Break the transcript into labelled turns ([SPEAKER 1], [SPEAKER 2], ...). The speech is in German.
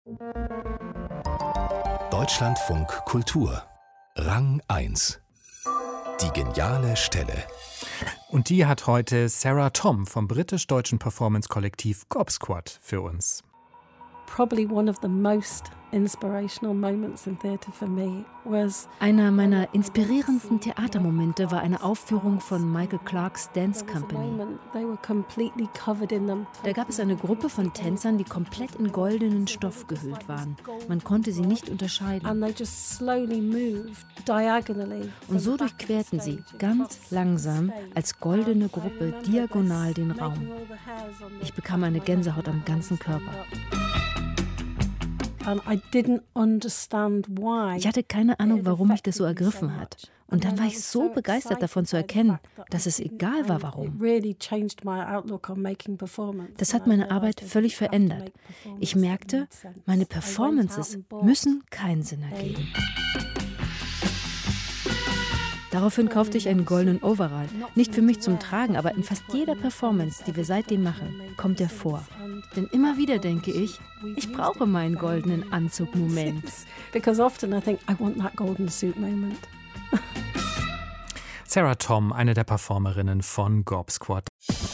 [SPEAKER 1] Deutschlandfunk Kultur Rang 1. Die geniale Stelle.
[SPEAKER 2] Und die hat heute Sarah Thom vom britisch-deutschen Performance-Kollektiv Gob Squad für uns.
[SPEAKER 3] Probably one of the most inspirational moments in theatre for me was
[SPEAKER 4] Einer meiner inspirierendsten Theatermomente war eine Aufführung von Michael Clarks Dance Company. Da gab es eine Gruppe von Tänzern, die komplett in goldenen Stoff gehüllt waren. Man konnte sie nicht unterscheiden. Und so durchquerten sie ganz langsam als goldene Gruppe diagonal den Raum. Ich bekam eine Gänsehaut am ganzen Körper. Ich hatte keine Ahnung, warum mich das so ergriffen hat. Und dann war ich so begeistert davon zu erkennen, dass es egal war, warum. Das hat meine Arbeit völlig verändert. Ich merkte, meine Performances müssen keinen Sinn ergeben. Daraufhin kaufte ich einen goldenen Overall. Nicht für mich zum Tragen, aber in fast jeder Performance, die wir seitdem machen, kommt er vor. Denn immer wieder denke ich brauche meinen goldenen Anzug-Moment.
[SPEAKER 3] Because often I think I want that golden suit moment.
[SPEAKER 2] Sarah Thom, eine der Performerinnen von Gob Squad.